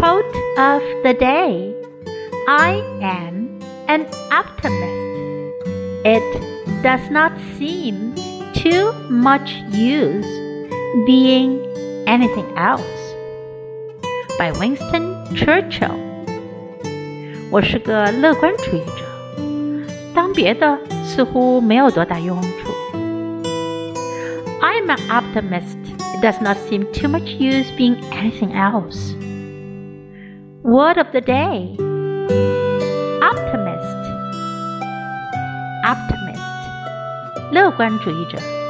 Quote of the day. I am an optimist. It does not seem too much use being anything else. By Winston Churchill. 我是个乐观主义者，当别的似乎没有多大用处。I'm an optimist. It does not seem too much use being anything else. Word of the day. Optimist. Optimist. 乐观主义者。